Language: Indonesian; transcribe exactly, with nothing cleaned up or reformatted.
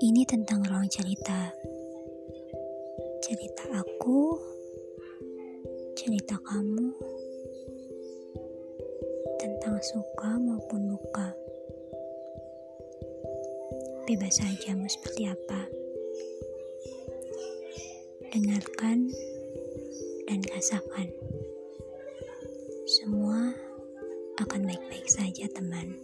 Ini tentang ruang cerita. Cerita aku, cerita kamu, tentang suka maupun duka. Bebas saja mau seperti apa. Dengarkan dan rasakan. Semua akan baik-baik saja, teman.